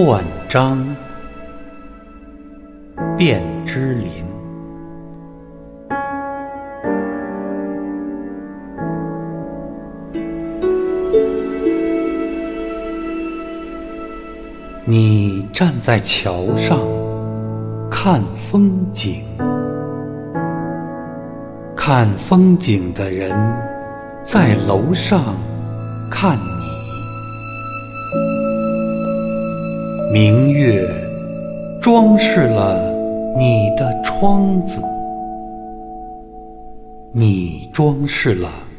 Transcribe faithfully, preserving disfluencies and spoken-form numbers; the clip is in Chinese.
断章，卞之琳。你站在桥上看风景，看风景的人在楼上看你。明月装饰了你的窗子，你装饰了